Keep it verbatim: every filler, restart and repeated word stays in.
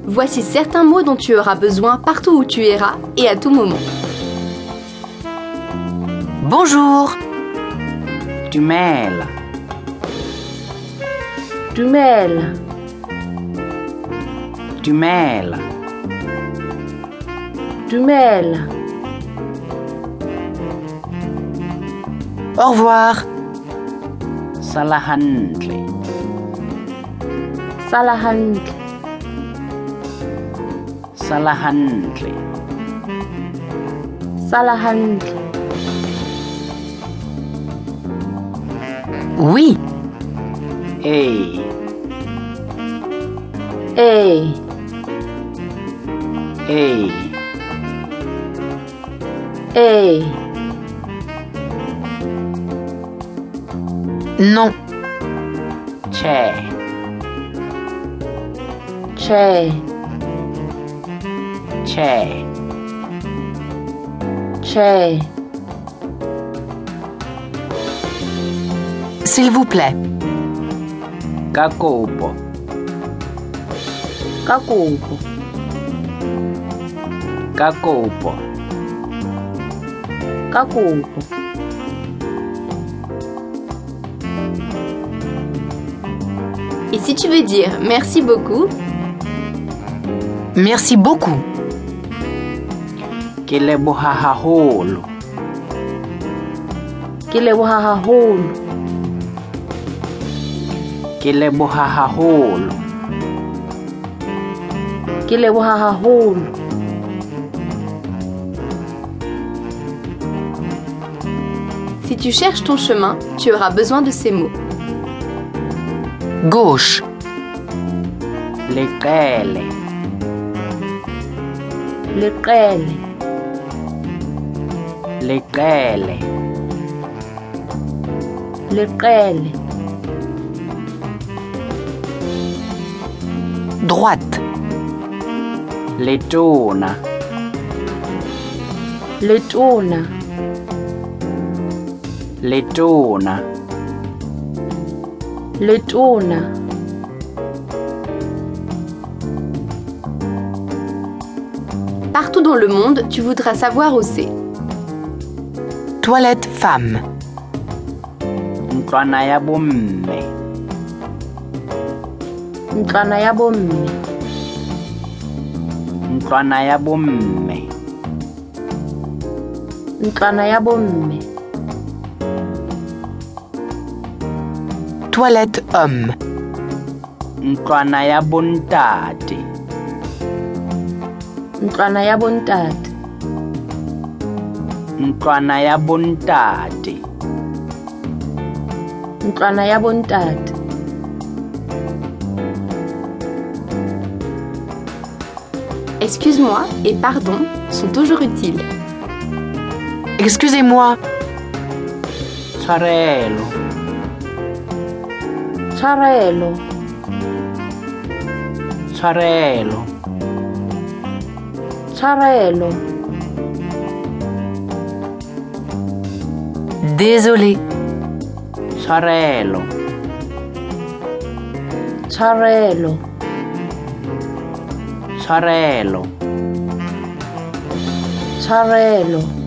Voici certains mots dont tu auras besoin partout où tu iras et à tout moment. Bonjour. Du mêles. Du mêles. Du mêles. Du mêles. Au revoir. Salahantle. Salahantle. Salahantle. Salahantle. Oui. Hey. Hey. Hey. Hey. Non. C'è. C'è. C'è. C'è. S'il vous plaît. Kakopo. Kakopo. Kakopo. Kakopo. Et si tu veux dire merci beaucoup, Merci beaucoup. Ke leboha haholo. Ke leboha haholo. Ke leboha haholo. Ke leboha haholo. si tu cherches ton chemin, tu auras besoin de ces mots. Gauche. Leqele. Leqele. Leqele. Leqele. Droite. Letona. Letona. Letona. Letona. Partout dans le monde, tu voudras savoir où c'est. Toilette femme. Ntlwana ya bomme. Ntlwana ya bomme. Ntlwana ya bomme. Ntlwana ya bomme. Toilette homme. Ntlwana ya bontate. Ntlwana ya bontate. Ntlwana ya bontate. Ntlwana ya bontate. Excuse-moi et pardon sont toujours utiles. Excusez-moi. Tshwarelo. Tshwarelo. Tshwarelo. Tshwarelo. Désolé. Tshwarelo. Tshwarelo. Tshwarelo. Tshwarelo.